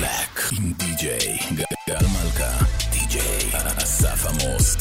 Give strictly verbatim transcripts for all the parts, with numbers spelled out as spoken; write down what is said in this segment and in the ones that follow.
Black עם די-ג'יי גל מלכה, די-ג'יי אסף עמוס.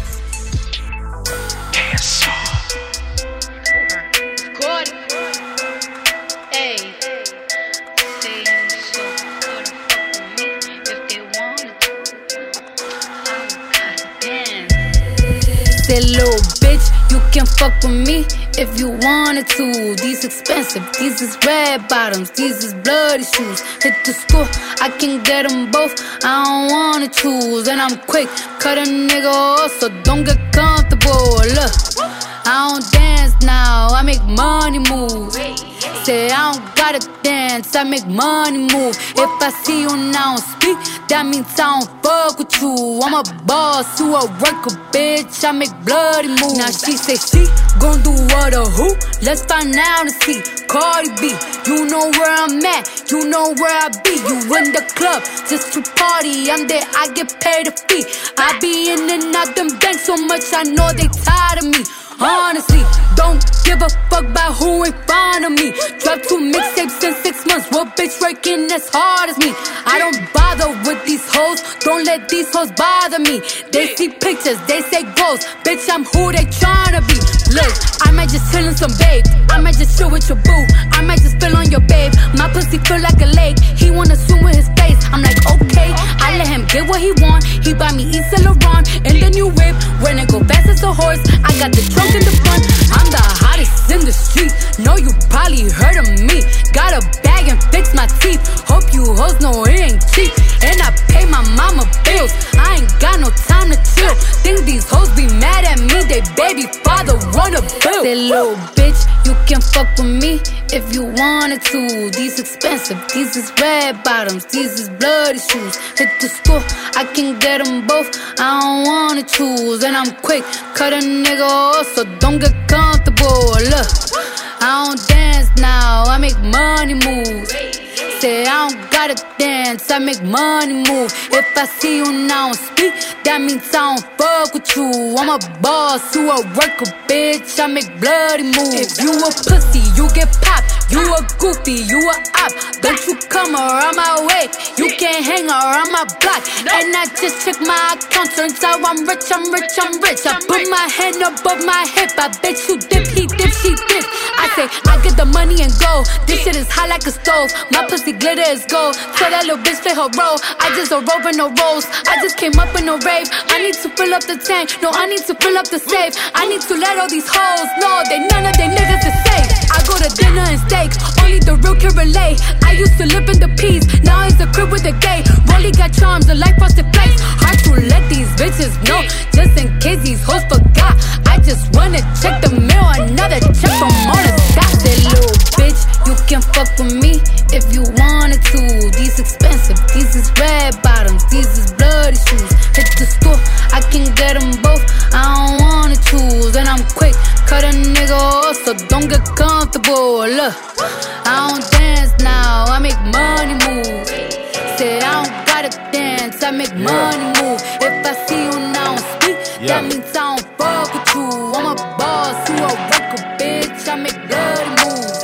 That little bitch, you can fuck with me if you wanted to. These expensive, these is red bottoms, these is bloody shoes. Hit the school, I can get them both, I don't wanna choose. And I'm quick, cut a nigga off, so don't get comfortable. Look, I don't dance now, I make money move. Say I don't gotta dance, I make money move. If I see you now speak, that means I don't fuck with you. I'm a boss, you a worker, bitch, I make bloody moves. Now she say she gon' do what or who? Let's find out and see. Cardi B, you know where I'm at, you know where I be. You in the club just to party, I'm there, I get paid a fee. I be in and out them banks so much, I know they tired of me. Honestly, don't give a fuck about who in front of me. Drop two mixtapes in six months, what bitch working as hard as me? I don't bother with these hoes, don't let these hoes bother me. They see pictures, they say goals, bitch I'm who they tryna be. Look, I might just chill in some babe, I might just chill with your boo, I might just spill on your babe. My pussy feel like a lake, he wanna swim with his face. I'm like okay, I let him get what he want. He buy me Yves Saint Laurent and the new whip. When it go fast as a horse, I got the trunk in the front. I'm the hottest in the street, know you probably heard of me. Got a bag and fix my teeth, hope you hoes know it ain't cheap. And I pay my mama bills, I ain't got no time to chill. Think these hoes be mad at me, they baby father run a bill. Say little bitch, you can fuck with me if you wanted to. These expensive, these is red bottoms, these is bloody shoes. Hit the school, I can get them both, I don't wanna choose. And I'm quick, cut a nigga off, so don't get comfortable. Look, I don't dance now, I make money moves. Say I don't gotta dance, I make money move. If I see you now speak, that means I don't fuck with you. I'm a boss, you a worker, bitch, I make bloody moves. If you a pussy, you get popped. You a goofy, you a op. Don't you come around my way, you can't hang around my block. And I just check my account, turns out I'm rich, I'm rich, I'm rich. I put my hand above my hip, I bet you dip, he dip, she dip. I say, I get the money and go, this shit is hot like a stove. My pussy glitter is gold, tell that little bitch play her role. I just a rope and no rolls, I just came up in a rave. I need to fill up the tank, no I need to fill up the safe. I need to let all these hoes know they none of they niggas is safe. I go to dinner and steak, only the real can relate. I used to live in the peace, now it's the crib with the gay. Rolly got charms, the life frosted flakes. Hard to let these bitches know, just in case these hoes forgot. I just wanna check the mail, another check from all the stop. That little bitch, you can fuck with me if you wanted to. These expensive, these is red bottoms, these is bloody shoes. Hit the store, I can get them both, I don't wanna choose. And I'm quick, cut a nigga off, so don't get comfortable. Look, I don't dance now, I make money move. Say I don't gotta dance, I make yeah. money move. If I see you now speak, yeah. that means I don't fuck with you. I'm a boss, you a worker, bitch, I make bloody moves.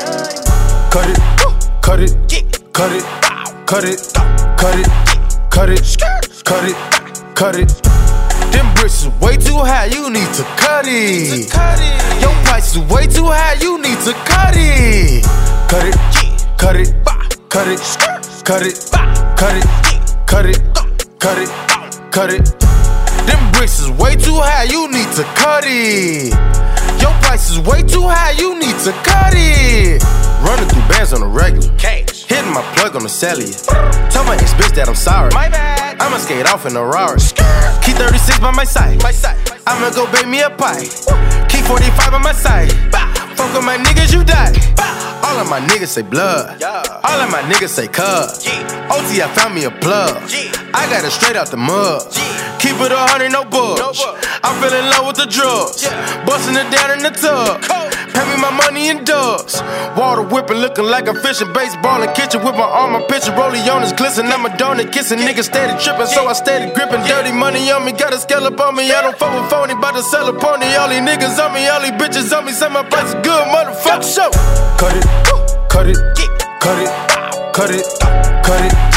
Cut it, cut it, cut it, cut it, cut it, cut it, cut it, cut it. Them bricks is way too high, you need to cut it. Your price is way too high, you need to cut it. Cut it, cut it, cut it, cut it, cut it, cut it, cut it, cut it. Them bricks is way too high, you need to cut it. Your price is way too high, you need to cut it. Running through bands on the regular, cash. Hitting my plug on the cellular. Tell my ex-bitch that I'm sorry. My bad. I'ma skate off in a Rari. Keep thirty-six by my side. My side. I'ma go bake me a pie. Keep forty-five by my side. Fuck with my niggas, you die. All of my niggas say blood. All of my niggas say cuz. O T, I found me a plug. I got it straight out the mud. Keep it a hundred, no budge. I fell in love with the drugs. Busting it down in the tub. Pay me my money in dubs. Water whipping, looking like a fish in baseball in kitchen with my arm, my picture. Rollie on his glisten, I'm a donut kissing. Niggas steady tripping, so I steady gripping. Dirty money on me, got a scale up on me. I don't fuck with phony, bout to sell a pony. All these niggas on me, all these bitches on me. Say my price is good, motherfucker. Show. Cut it, cut it, cut it, cut it, cut it,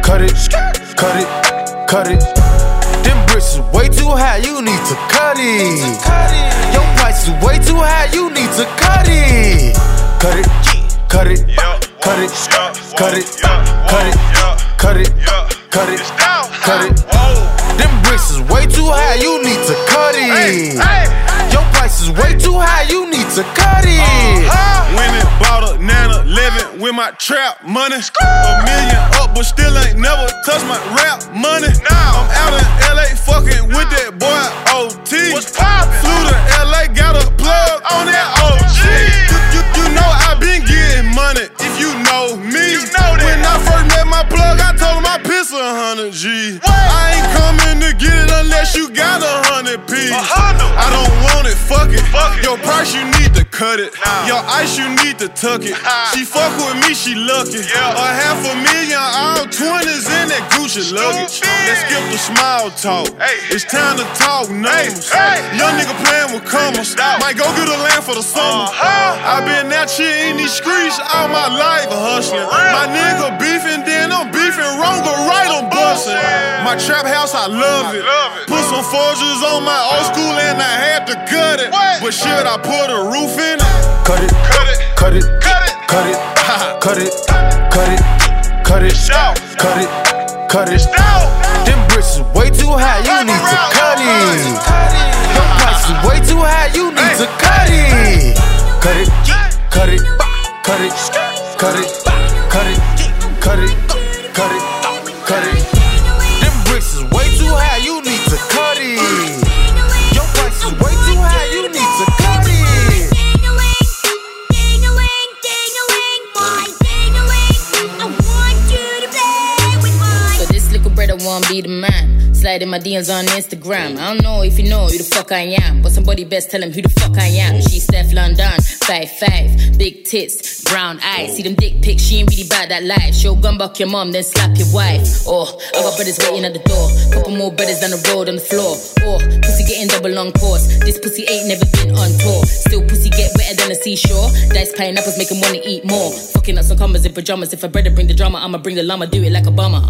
cut it, cut it, cut it. Them bricks is way too high, you need to cut it. Your price is way too high, you need to cut it. Cut it, cut it, cut it, cut it, cut it, cut it, cut it, cut it. Them bricks is way too high, you need to cut it. Your price is way too high, you need to cut it. Went and bought a nine eleven with my trap money. A million up, but still ain't never touched my rap money. I'm out in L A fucking with that boy O T. Flew to L A, got a plug on that O G. You, you, you know I been getting money, if you know me. You know that. When I first met my plug, I told him I piss a hundred G. I ain't coming to get it unless you got a hundred P. I don't want it, fuck it. Fuck it. Your price, you need to cut it. Nah. Your ice, you need to tuck it. She fuck with me, she lucky. Yeah. A half a million, all twenties in that Gucci luggage. Let's skip the small talk. Hey. It's time to talk numbers. Hey. Hey. Young nigga playing with commas. Might go get a land for the summer. Uh-huh. I been out here in these streets all my life hustling. My nigga beefing, then I'm beefing wrong or right, I'm busting. My trap house, I love it. Love it. Put some forges on my old school and I had to gut it. What? But should I put a roof in it? Cut it, cut it, cut it, cut it, cut it, cut it, cut it, cut it, cut it, cut it. Them bricks is way too high, you need to cut it. Your price is way too high, you need to cut it. Cut it, cut it, cut it, cut it, cut it, cut it, cut it, cut it. Them bricks is way too high, you need to cut it. Your price is way too high, you need to cut it. So this little brother wanna be the man. Slide in my D Ms on Instagram. I don't know if you know who the fuck I am, but somebody best tell him who the fuck I am. She's Steph London, five five, big tits, brown eyes. See them dick pics, she ain't really bad that life. Show gun buck your mom, then slap your wife. Oh, I got brothers waiting at the door. Couple more brothers down the road on the floor. Oh, pussy getting double on course. This pussy ain't never been on tour. Still pussy get wetter than a seashore. Dice pineapples make him wanna eat more. Fucking up some commas in pajamas. If a brother bring the drama, I'ma bring the llama. Do it like a bummer.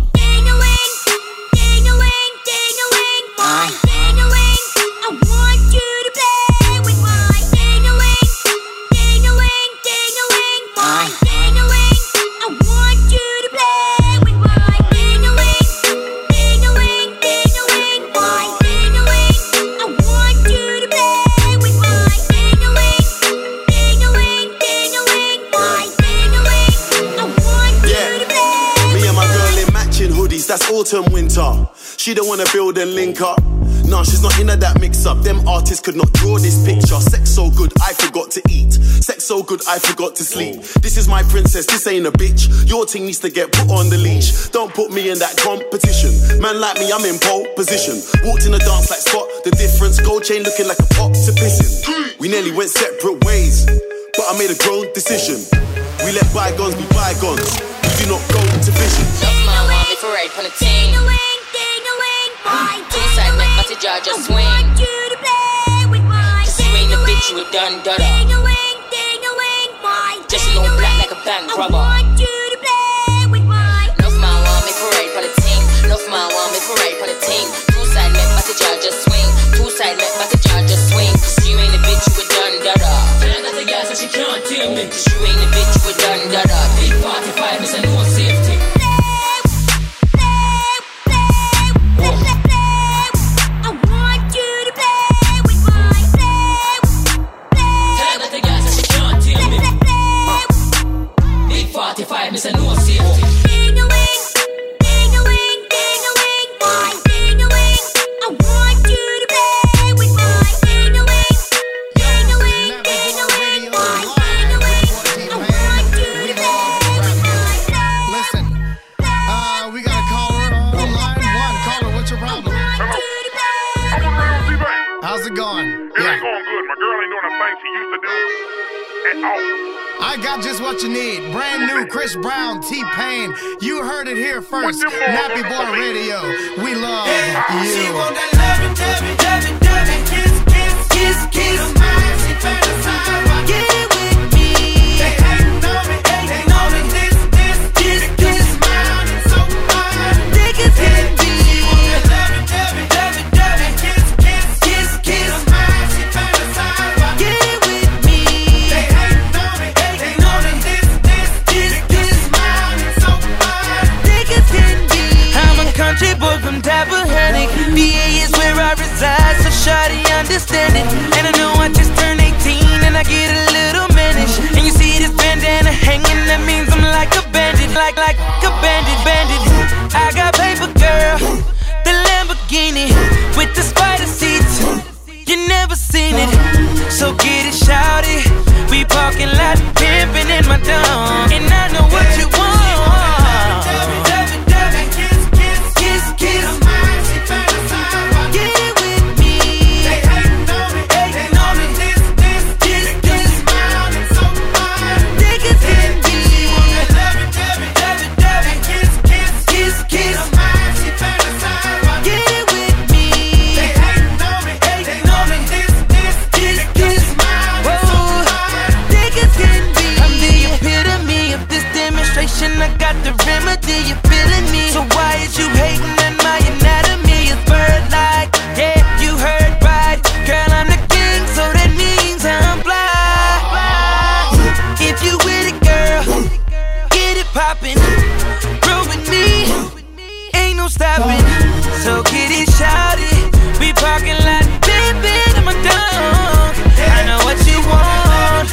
Uh. I want you to play with my ding-a-ling, ding-a-ling, ding-a-ling, my ding-a-ling. I want you to play with my ding-a-ling, ding-a-ling, ding-a-ling, my ding-a-ling. I want you to play with my ding-a-ling, ding-a-ling, ding-a-ling, my ding-a-ling. I want you to play. Me and my girl in matching hoodies, that's autumn, winter. She don't wanna build and link up. Nah, she's not into that mix-up. Them artists could not draw this picture. Sex so good, I forgot to eat. Sex so good, I forgot to sleep. This is my princess, this ain't a bitch. Your thing needs to get put on the leash. Don't put me in that competition. Man like me, I'm in pole position. Walked in the dance like Spot the difference. Gold chain looking like a pot to pissin'. We nearly went separate ways, but I made a grown decision. We let bygones be bygones. We do not go to vision. Love my mommy for right on the team. Two side make my jaw just swing. Just you ain't a bitch, you a done dada. Just you know black like a bank robber. Love my mommy for right on the team. Love my mommy for right on the team. Two side make my jaw just swing. Two side make my jaw just swing. Cause you ain't a bitch, you a done dada. Tell her the girl so she can't tell me. Cause you ain't a bitch, you a done dada. Big forty-five is a no safety. forty-five, Mister No Safety. Ding-a-ling, ding-a-ling, ding-a-ling, my ding-a-ling. I want you to play with my ding-a-ling, ding-a-ling, ding-a-ling, my ding-a-ling. I want you to play with my ding-a-ling. Listen, uh, we got a caller on line one. Caller, what's your problem? How's it going? It yeah. ain't going good. My girl ain't doing the thing she used to do at all. I got just what you need. Brand new Chris Brown, T-Pain. You heard it here first. Nappy Boy Radio. We love yeah. you. She want that loving, loving, loving, loving. Kiss, kiss, kiss, kiss. She fantasize. Get it with me. They hating on me, they hating on me. This, this, this, this. Smiling so fine. understand it. And I know I just turned eighteen and I get a little mannish. And you see this bandana hanging, that means I'm like a bandit, like like a bandit, bandit. I got paper, girl, the Lamborghini with the spider seats. You never seen it, so get it, shout it. We parking lot pimping in my dome, and I know what you want. I got the remedy, you feeling me? So why is you hating on my anatomy? It's bird-like, yeah, you heard right. Girl, I'm the king, so that means I'm fly. If you with it, girl, get it poppin'. Roll with me, ain't no stopping. So get it, shout it. We parking lot, baby, in my dog. I know what you want.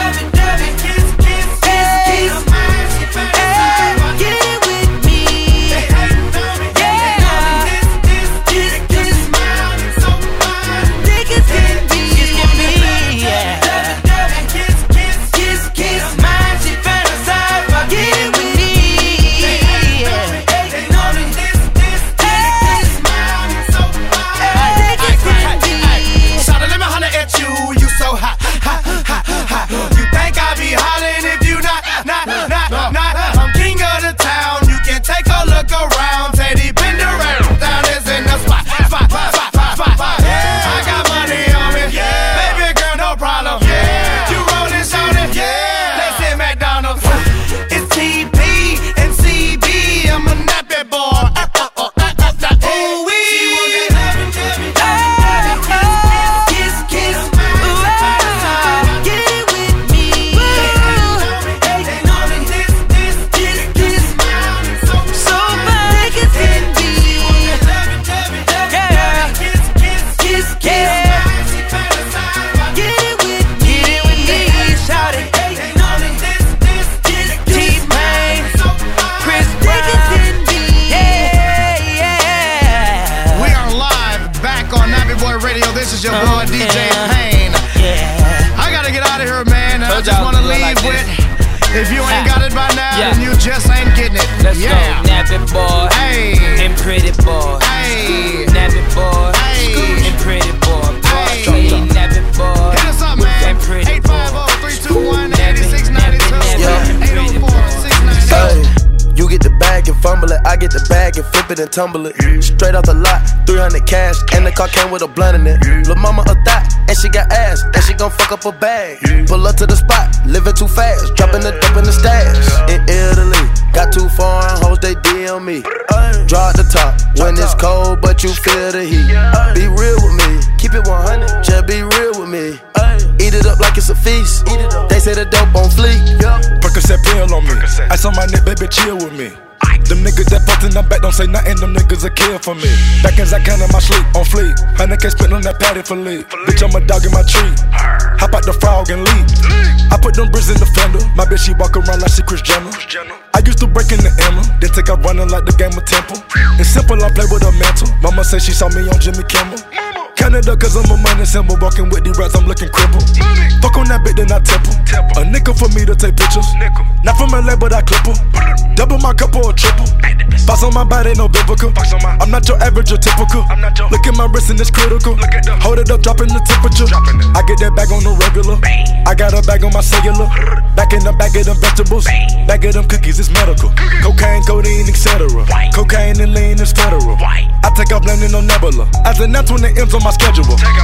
If you ain't got it by now, yeah, then you just ain't getting it. Let's yeah. go, Nappy boy, hey, and pretty boy, hey, Nappy boy, hey, and pretty boy, hey, hey, Nappy boy, hit us up, man. eight five zero, three two one, eight six nine two, eight oh four, six nine zero. You get the bag and fumble it, I get the bag and flip it and tumble it. Straight off the lot, three hundred cash, and the car came with a blunt in it. Lil' mama a thot, and she got ass, and she gon' fuck up a bag. Pull up to the spot, living too fast, dropping the dope in the stash. In Italy, got two foreign hoes, they D M me. Draw at the top, when it's cold, but you feel the heat. Be real with me, keep it one hundred, just be real with me. Eat it up like it's a feast, they say the dope on fleek. Percocet pill on me, ice on my neck, baby, chill with me. Them niggas that fucked in the back don't say nothing, them niggas a kill for me. Back as I can in my sleep, on fleek. Hundred K spent on that patty for lead. Bitch, I'm a dog in my tree. Hop out the frog and leap. I put them bricks in the fender. My bitch, she walk around like she Kris Jenner. I used to break in the Emma, then take out running like the game of Temple. It's simple, I play with a mantle. Mama say she saw me on Jimmy Kimmel. Canada, cause I'm a money symbol. Walking with the rats, I'm looking crippled. Fuck on that bitch, then I temple. A nickel for me to take pictures. Not from L A, but I clip her. Double my cup or a triple. Box on my body, no biblical. I'm not your average or typical. Look at my wrist and it's critical. Hold it up, dropping the temperature. I get that bag on the regular. I got a bag on my cellular. Back in the bag of them vegetables. Bag of them cookies, it's medical. Cocaine, codeine, et cetera. Cocaine and lean is federal. I take off landing on Nebula. As an that's when it ends on my schedule.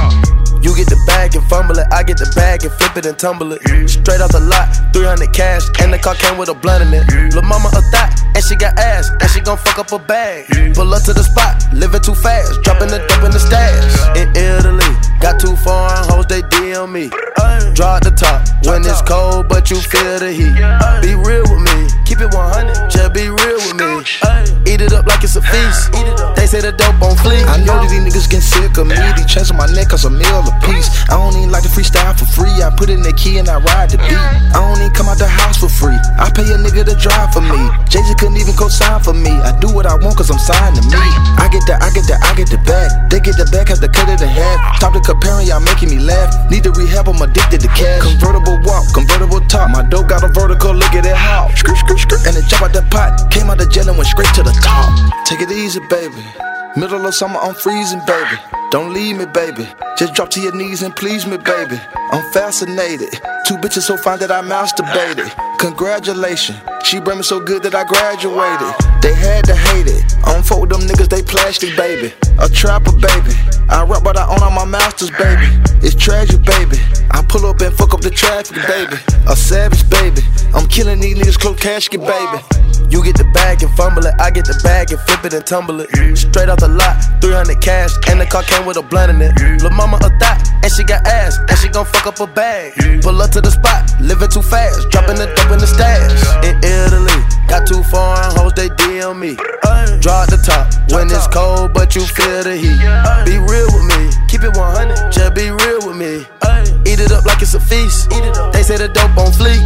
You get the bag and fumble it, I get the bag and flip it and tumble it. Straight off the lot, three hundred cash, and the car came with a blunt in it. Lil' mama a thot, and she got ass, and she gon' fuck up a bag. Pull up to the spot, living too fast, dropping the dope in the stash. In Italy, got two foreign hoes, they D M me. Draw at the top, when it's cold, but you feel the heat. Be real with me, keep it one hundred, just be real with me. Eat it up like it's a feast. They say say the dope on fleek. I know that these niggas getting sick of me. These chains on my neck cause a meal a piece. I don't even like to freestyle for free. I put in the key and I ride the beat. I don't even come out the house for free. I pay a nigga to drive for me. Jay-Z couldn't even co-sign for me. I do what I want cause I'm signed to me. I get the, I get the, I get the bag. They get the bag, have to cut it in half. Top to comparing, y'all making me laugh. Need to rehab, I'm addicted to cash. Convertible walk, convertible top. My dope got a vertical, look at it how. Skirt, skirt, skirt. And it jump out the pot. Came out the jail and went straight to the top. Take it easy, baby. Middle of summer, I'm freezing, baby. Don't leave me, baby. Just drop to your knees and please me, baby. I'm fascinated. Two bitches so fine that I masturbated. Congratulations. She bring me so good that I graduated. They had to hate it. I don't fuck with them niggas, they plastic, baby. A trapper, baby. I rap but I own all my masters, baby. It's tragic, baby. I pull up and fuck up the traffic, baby. A savage, baby. I'm killing these niggas, close casket, baby. You get the bag and fumble it, I get the bag and flip it and tumble it. Straight off the lot, three hundred cash, and the car came with a blunt in it. Lil' mama a thot, and she got ass, and she gon' fuck up a bag. Pull up to the spot, living too fast, dropping the dope in the stash. In Italy, got two foreign hoes, they D M me. Draw at the top, when it's cold, but you feel the heat. Be real with me, keep it one hundred, just be real with me. Eat it up like it's a feast, they say the dope on fleek.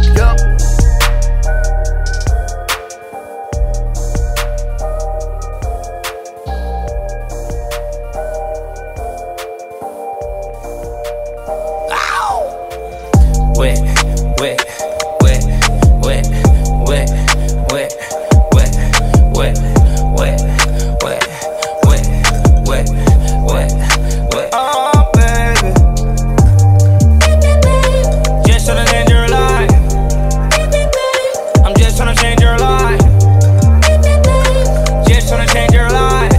Wet, wet, wet, wet, wet, wet, wet, wet, wet, wet, wet, wet, wet, wet. Oh, baby. Just tryna change your life. I'm just tryna change your life. Just tryna change your life.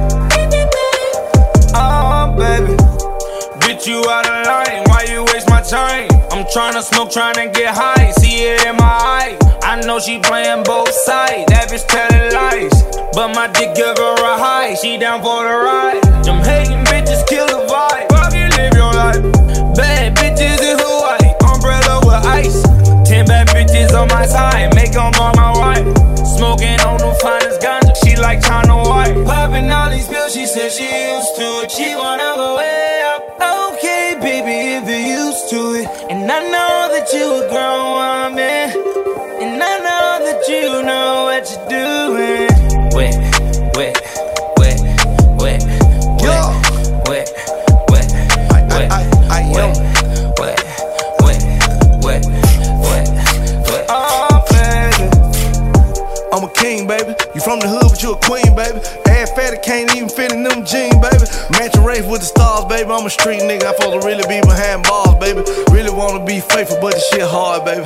Oh, baby. Get you out of line. Why you waste my time? I'm tryna smoke, tryna get high, see it in my eye. I know she playing both sides, that bitch telling lies. But my dick give her a high, she down for the ride. Them hating bitches kill the vibe, fucking live your life. Bad bitches in Hawaii, umbrella with ice. Ten bad bitches on my side, make them all my wife. Smoking on the finest ganja, she like China White. Popping all these pills, she said she used to it, she wanna go way up. Okay, baby, if you're used to it. And I know that you a grown woman, and I know that you know what you're doing. Wet, wet, wet, wet, wet, wet, wet, wet, wet, wet, wet, wet, wet, wet. Oh, baby. I'm a king, baby. You from the hood, but you a queen, baby. Ass fatty can't even fit in them jeans, baby. Matching race with the stars, baby. I'm a street nigga. I'm supposed to really be behind bars, baby. Really wanna be faithful, but this shit hard, baby.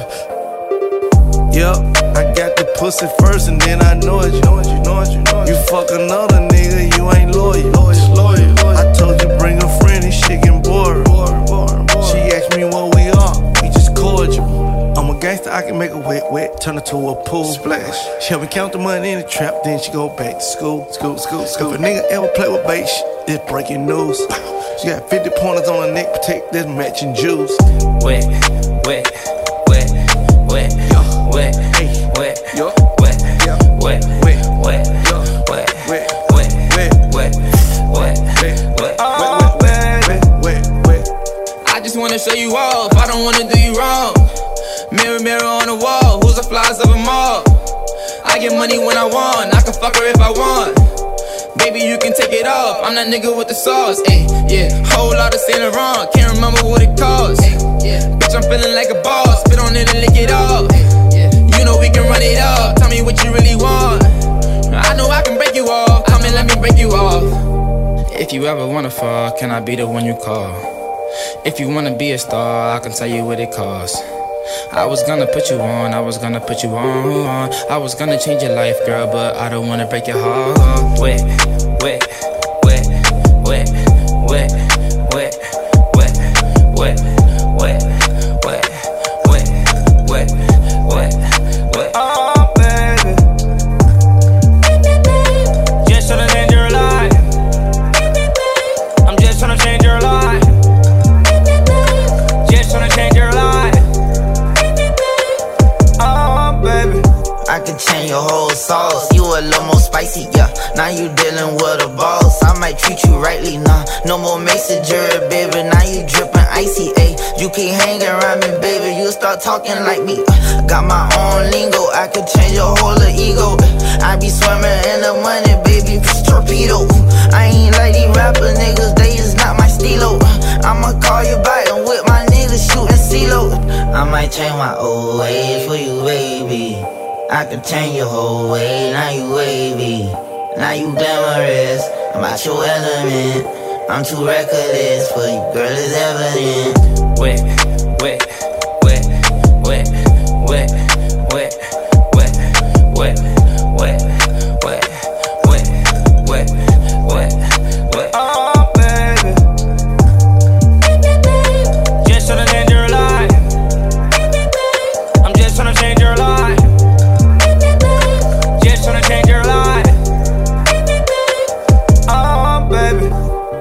Yup, I got the pussy first, and then I know it. You know it, you know it, you know it. You fuck another nigga, you ain't loyal. Loyal, loyal, loyal. I told you bring a friend, this shit getting bored. bored, bored, bored. She asked me what we are, we just cordial. I'm a gangster, I can make a wet, wet, turn it to a pool splash. She help me count the money in the trap, then she go back to school, school, school, school. If a nigga ever play with bait, it's breaking news. She got fifty pointers on her neck, protect this matching jewels. Wet, wet, wet, wet, wet, wet, wet, wet, wet, wet, wet, wet, wet, wet, wet, wet, wet. Oh, baby. I just wanna show you off, I don't wanna do you wrong. Mirror, mirror on the wall, who's the flies of them all? I get money when I want, I can fuck her if I want. Baby, you can take it off, I'm that nigga with the sauce, ayy, yeah. Whole lot of Saint Laurent, can't remember what it costs, yeah. Bitch, I'm feeling like a boss, spit on it and lick it off, yeah. You know we can run it up, tell me what you really want. I know I can break you off, come and let me break you off. If you ever wanna fall, can I be the one you call? If you wanna be a star, I can tell you what it costs. I was gonna put you on, I was gonna put you on. I was gonna change your life, girl, but I don't wanna break your heart. Wet, wet, wet, wet, wet, wet, wet, wet, wet, wet, wet, wet, wet, wet. Oh, baby. Just tryna change your life. I'm just tryna change your life. Just tryna change your life. I can change your whole more sauce. You a little more spicy, yeah. Now you dealing with a boss. I might treat you rightly, nah. No more mason jury, baby. Now you drippin' icy, ayy. You keep hanging around me, baby. You start talking like me. Uh, got my own lingo. I could change your whole ego. Uh, I be swimming in the money, baby. Torpedo. Uh, I ain't like these rapper niggas. They is not my stilo. Uh, I'ma call you back and with my niggas shooting CeeLo. Uh, I might change my old ways for you, baby. I could change your whole way. Now you wavy. Now you glamorous. I'm out your element. I'm too reckless for you, girl, it's evident. Wet, wet, wet, wet, wet, wet, wet, wet, wet, wet, wet, wet, wet, wet. Oh, baby. Just tryna change your life. I'm just tryna change your life. Just tryna change your life. Oh, baby.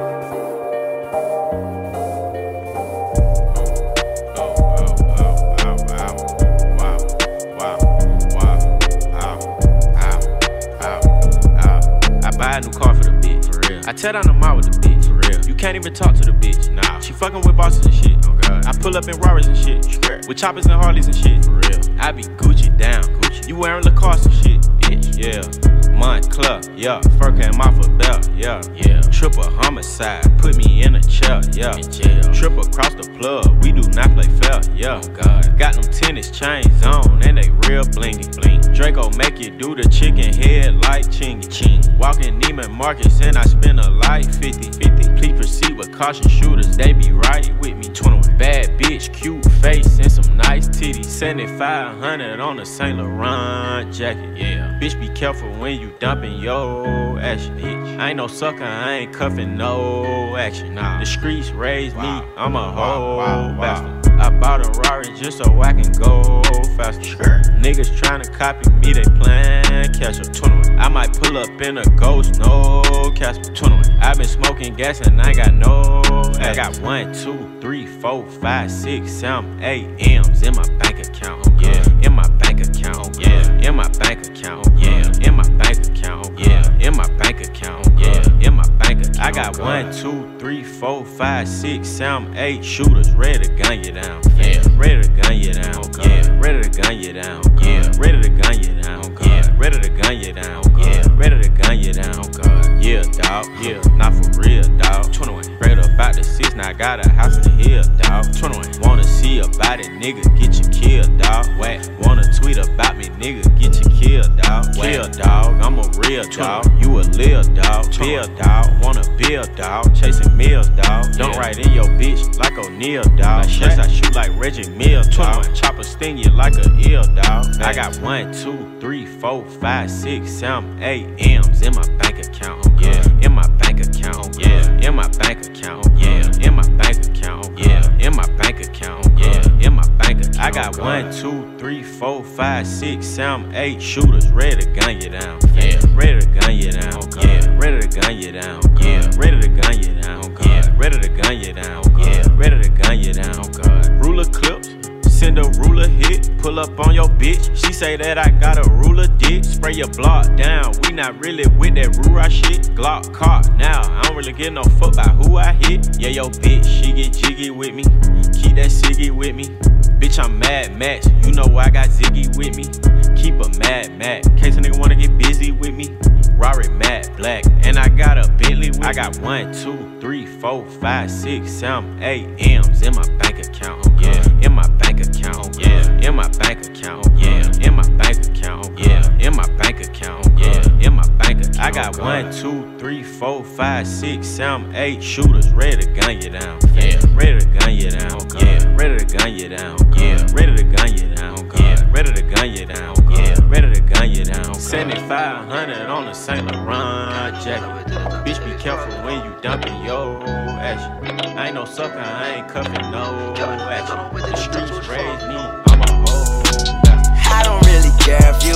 I tear down the mall with the bitch, for real. You can't even talk to the bitch, nah. She fucking with bosses and shit, oh god. I pull up in Rarers and shit, Straight. With choppers and Harleys and shit, for real. I be Gucci down, Gucci. You wearing Lacoste and shit, bitch, yeah. Montclair, yeah. Fur came off a belt, yeah, yeah. Triple homicide, put me in a chair, yeah. In jail. Triple across the plug, we do not play fair, yeah. Oh god. Got them tennis chains on and they real blingy, bling. Draco make you do the chicken head like chingy, ching. Walking Neiman Marcus and I spend a life fifty, fifty. Please proceed with caution, shooters, they be right with me. twenty-one. Bad bitch, cute face and some nice titties. seventy-five hundred on a Saint Laurent jacket, yeah. Bitch, be careful when you dumping yo action, bitch. I ain't no sucker, I ain't cuffing no action. Nah. The streets raised wow. me, I'm a whole wow, wow, bastard. Wow. I bought a Rari just so I can go faster. Sure. Niggas tryna copy me, they plan catch up. twenty-one. I might pull up in a ghost, no Casper. twenty-one. I been smoking gas and I got no I got one, two, three, four, five, six, seven, eight M's in my bank account. Yeah, in my bank account. Yeah, in my bank account. Yeah, in my bank account. Yeah, in my bank account. Yeah, in my bank account. I got one, two, three, four, five, six, seven, eight shooters ready to gun you down. Yeah, ready to gun you down. Yeah, ready to gun you down. Yeah, ready to gun you down. Yeah, ready to gun you down. Yeah, ready to gun you down. Yeah, dawg. Yeah, not for real, dawg. twenty-one. Straight up out the six, now I got a house in the hill, dawg. twenty-one. Wanna see about it, nigga, get you killed, dawg. Whack. Wanna tweet about me, nigga, get you killed, dawg. Kill, dawg. I'm a real dawg. You a lil dawg. Bill, dawg. Wanna build, dawg. Chasing meals, dawg. Don't write in your bitch like O'Neal, dawg. Yes, I shoot like Reggie Mills, dawg. Chopper sting you like a eel, dawg. I got one, two, three, four, five, six, seven, eight M's in my bank account. Yeah, in my bank account. Yeah, in my bank account. Yeah, in my bank account. Yeah, in my bank account. Yeah, in my bank account. I got one, two, three, four, five, six, seven, eight shooters ready to gun you down. Yeah, ready to gun you down. Yeah, ready to gun you down. Yeah, ready to gun you down. Yeah, ready to gun you down. Yeah, ready to gun you down. Ruler clips. Send a ruler hit, pull up on your bitch. She say that I got a ruler dick. Spray your block down, we not really with that Rura shit. Glock caught now, I don't really give no fuck about who I hit. Yeah, yo bitch, she get jiggy with me. Keep that ciggy with me. Bitch, I'm Mad Max, you know I got Ziggy with me. Keep a Mad Max, in case a nigga wanna get busy with me. Rari matte black, and I got a Bentley with I got one, two, three, four, five, six, seven, eight M's in my bank account. Yeah, in my bank account. Yeah, in my bank account. Yeah, in my bank account. Yeah, in my bank account. Yeah, in my bank account. I got one, two, three, four, five, six, seven, eight shooters ready to gun you down. Yeah, ready to gun you down. Yeah, ready to gun you down. Yeah, ready to gun you down. Yeah, ready to gun you down. Yeah, ready to gun you down. seventy-five hundred on the Saint Laurent jacket. Bitch, be careful when you dumping your action. I ain't no sucker, I ain't cuffing no action. The streets raised me, I'm a whole bastard. I don't really care if you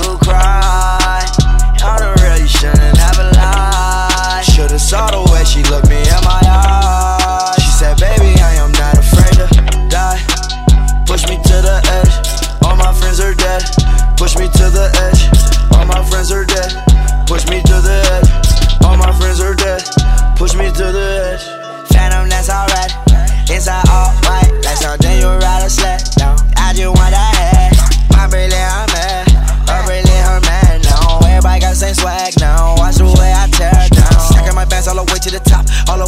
cry. I don't really shouldn't have a lie. Should've saw the way she looked me in my eyes. She said, baby, I am not afraid to die. Push me to the edge, all my friends are dead. Push me to the edge, all my friends are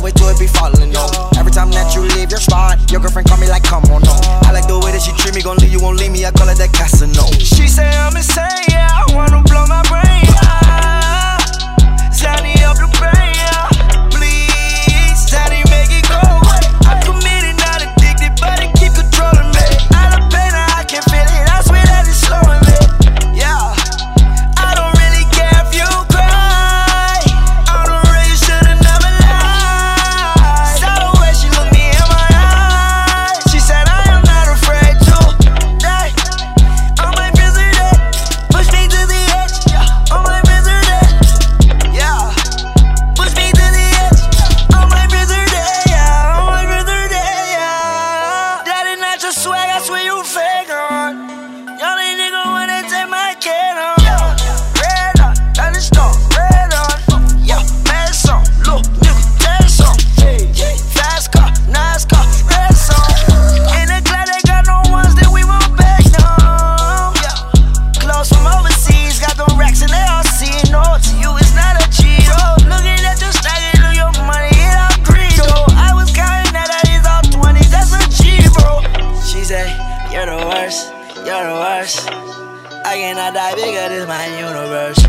wait till it be falling, no. Every time that you leave your spot, your girlfriend call me like, come on, no. I like the way that she treat me, gon' leave you, won't leave me, I call it that Casino. She say I'm insane, yeah, I wanna blow my brain, yeah. Johnny up the brain, yeah. Please, Johnny make it go away. I'm committed, not addicted, but it keep controlling me. Out of pain, I can feel it, I swear that it's slowing me. Yeah, I don't really care if you cry. I don't really should've never lied. Saw the way she looked me in my eyes. She said I am not afraid to die. All my friends are dead, push me to the edge. Yeah, all my friends are dead. Yeah, push me to the edge. All my friends are dead. Yeah, all my friends are dead. Yeah, that is not your swag, I swear you fake on. Y'all ain't nigga wanna take my kid on. Red on, that is stone, red on. Yeah, mad song, look, nigga, that song. Fast car, nice car, red song. In the club, they got no ones that we won't back down. Yeah, clothes from overseas, got them racks and they all see. No, to you it's not a cheat. Oh, looking at your stacking of your money, it all greed. Oh, I was counting that I is all twenties, that's a G, bro. She say, you're the worst, you're the worst. I cannot die bigger, this my universe.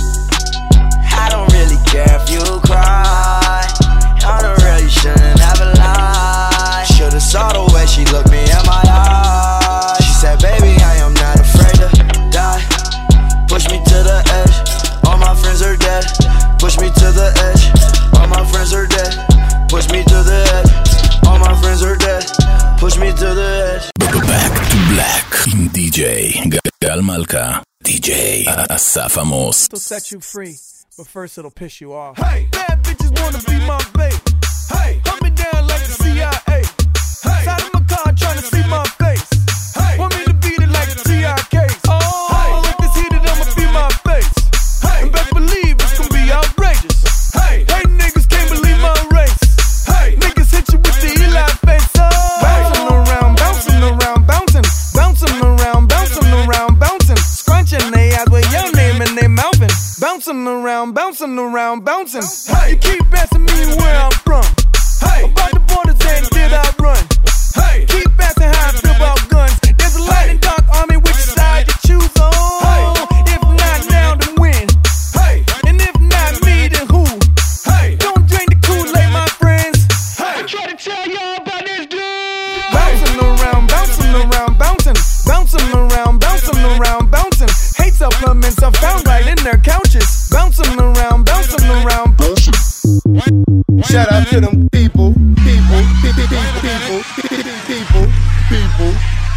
I don't really care if you cry. I don't really shouldn't have a lie. Should've saw the way she looked me in my eyes. She said, baby, I am not afraid to die. Push me to the edge, all my friends are dead. Push me to the edge, all my friends are dead. Push me to the edge, all my friends are dead. Push me to the edge. Back to Black עם די-ג'יי גל מלכה, די-ג'יי אסף עמוס. It'll set you free, but first it'll piss you off. Hey, bad bitches wanna be my babe. Hey, hunt me down like the C I A. Hey, side of my car trying to see my face. Hey, want me to beat it like the T I Ks. Oh, hey, if it's heated, I'ma be my face. Hey, and best believe it's gonna be outrageous. Hey, hey, niggas can't believe my race. Hey, niggas hit you with the Eli face. Oh, bouncing around, bouncing around, bouncing, bouncing around, bouncing around, bouncing, scrunching they eyes with your name and they mouthing, bouncing around, bouncing around, bouncing. Hey, you keep asking me where I'm from. Hey, about the borders and did I run? Hey, keep asking how I feel about guns. There's a light and dark army, which side you choose on? Hey, if not now, then when? Hey, and if not me, then who? Hey, don't drink the Kool-Aid, my friends. Hey, I try to tell y'all about this dude. Bouncing around, bouncing around, bouncing, bouncing around, bouncing around, bouncing. Hate supplements are found right in their couches. Bouncing around, bouncing around, bouncing. Shout out to them people, people, people, people, people, people.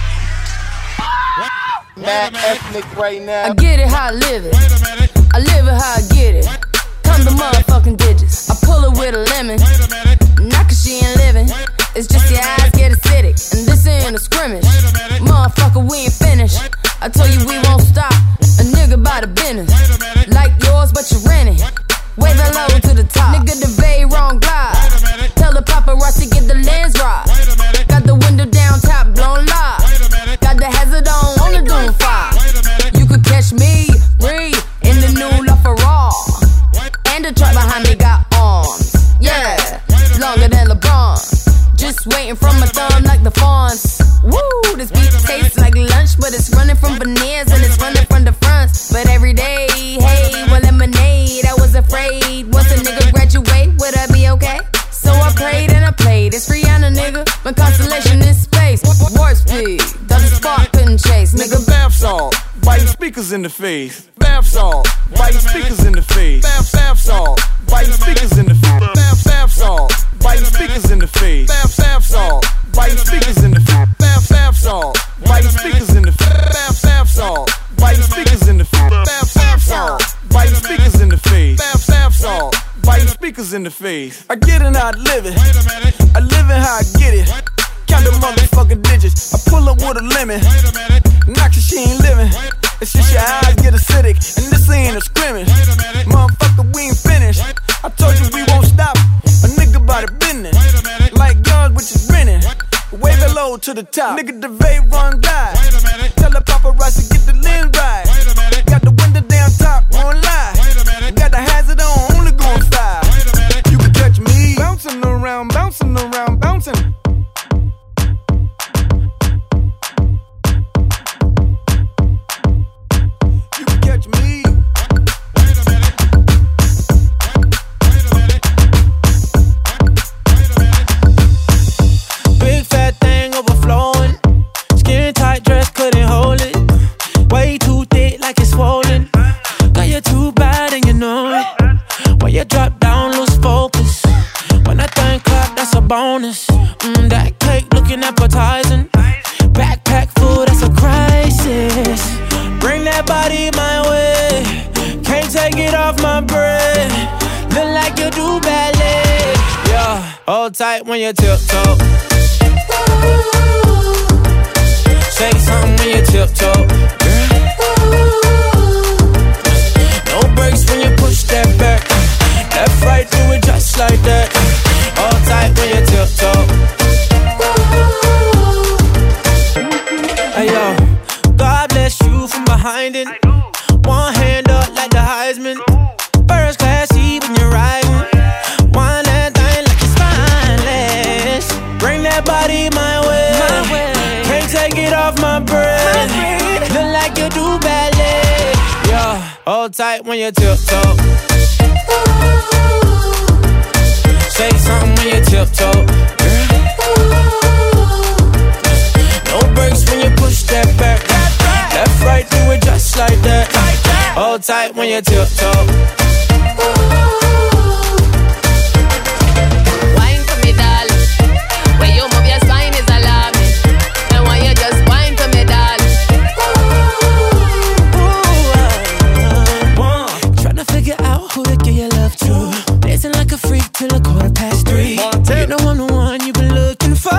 Mad ethnic right now. I get it how I live it. I live it how I get it. Come the motherfucking digits. I pull it with a lemon. Not cause she ain't living. It's just your eyes get acidic. And this ain't a scrimmage. Motherfucker, we ain't finished. I told you we won't stop. A nigga by the business. Like yours, but you rent it. Way the low to the top. Nigga, the very wrong glide. Tell the paparazzi get the lens right. Got the window down, top blown live. Got the hazard on, on the doom fire. You could catch me, read in the new LaFerrari. And the truck behind me got arms. Yeah, longer than LeBron. Just waiting from my thumb like the fawns. Woo, this beat tastes like lunch, but it's running from veneers and it's running from the fronts. But every day, hey, well, lemonade. I was afraid once a nigga graduate, would I be okay? So I prayed and I played. It's Rihanna, nigga. My constellation in space. Warp speed, doesn't spark, couldn't chase. Nigga, bath salt, biting speakers in the face. Bath salt, biting speakers in the face. Bath, bath salt, biting speakers in the face. Bath, bath salt, biting speakers in the face. Bath, bath salt, biting speakers in the face. Bath, bath salt, biting speakers in the face. Bath, bath salt, biting speakers in the face. Bath, bath salt, biting speakers in the face. Bath, bath salt, biting speakers in the face. I get it how I live it. I live it how I get it. Count the motherfucking digits. I pull up with a lemon. Not cause she ain't living. It's just your eyes get acidic. And this ain't a scrimmage. Motherfucker, we ain't finished. I told you we won't stop. A nigga by the business. Like guns, which is renting. Wave it low to the top. Nigga, the vape run guy. Tell the paparazzi get the lens right. Got the window down top, won't lie. Got the hazard on, only going five. You can catch me bouncing around. bonus. Mm, that cake looking appetizing. Backpack full, that's a crisis. Bring that body my way. Can't take it off my bread. Look like you do ballet. Yeah, hold tight when you tiptoe. Say something when you tiptoe. No brakes when you push that back. Left, right, do it just like that. Hold tight when you tiptoe. Hey yo, God bless you from behind it. One hand up like the Heisman. First class seat when you're riding. One that thing like it's spineless. Bring that body my way. Can't take it off my breath. Look like you do ballet. Yeah, hold tight when you tiptoe. Say something when you tiptoe. No brakes when you push that back. Left, right, do it just like that. Hold tight when you tiptoe. Wine for me, darling. When you move your spine is alarming. And when you just wine for me, darling. Tryna figure out who to give your love to. Dancing like a freak till a quarter past three. You know I'm the one you've been looking for.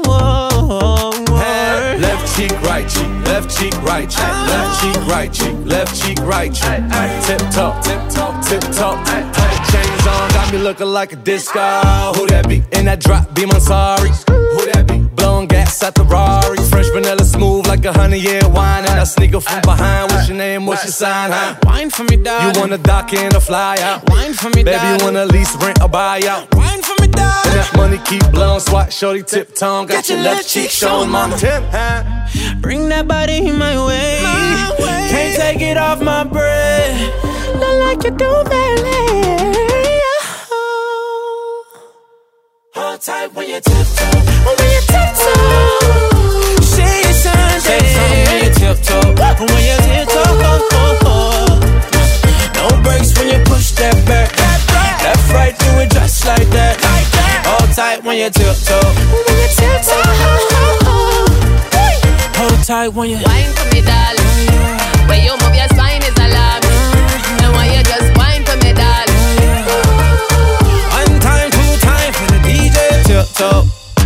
Left cheek, right cheek, left cheek, right cheek, left cheek, right cheek, left cheek, right cheek. Tip top, tip top, tip top. Chains on, got me looking like a disco. Who that be? In that drop, be my sorry. Who that be? Blowing gas at the Rari. Fresh vanilla smooth like a hundred year wine. And I sneak up from behind. What's your name? What's your sign? Huh? Wine for me, darling. You wanna dock in or fly out? Wine for me, baby, darling. you wanna lease, rent, or buy out? Wine for me, darling. And that money keep blowing, swat, shorty, tip tongue. Got, got your left cheek showing, mama. Tip, huh? Bring that body my way. my way. Can't take it off my breath. Look like you do ballet. Hold tight when you tiptoe. When you tiptoe. Say your sign, say something when you tiptoe. When you tiptoe. No brakes when you push that back. Left, right, do it just like that. Hold tight when you tiptoe. When you tiptoe. Hold tight when you wine for me, darling. When you move your spine is alarming. And when you just wine for me, darling. One time, two time for the D J. Tiptoe.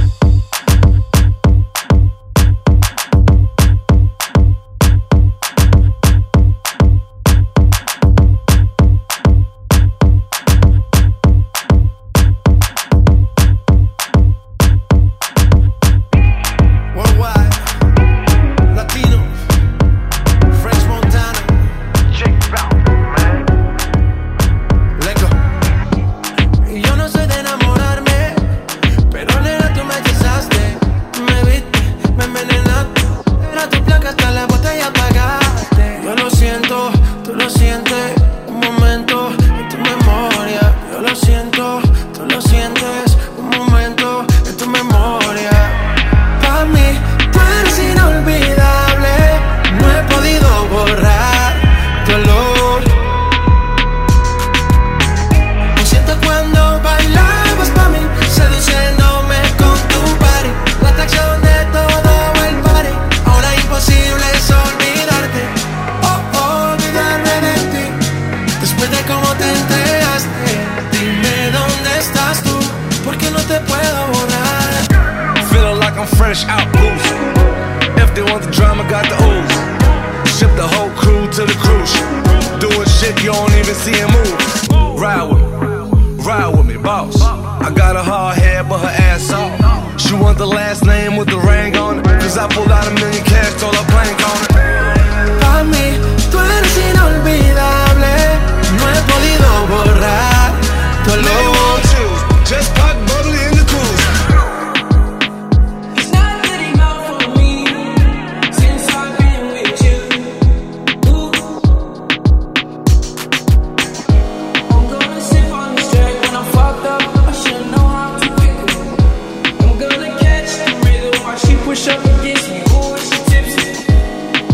Fresh out boost. If they want the drama, got the ooze. Ship the whole crew to the cruise. Doing shit you don't even see him move. Ride with me, ride with me, boss. I got a hard head, but her ass off. She want the last name with the ring on it. Cause I pulled out a million cash, told her plank on it. Pa' mí, tú eres inolvidable. No he podido borrar tu olor. Just pop bubbly in the cruise. Push up against me, ooh, she tipsy.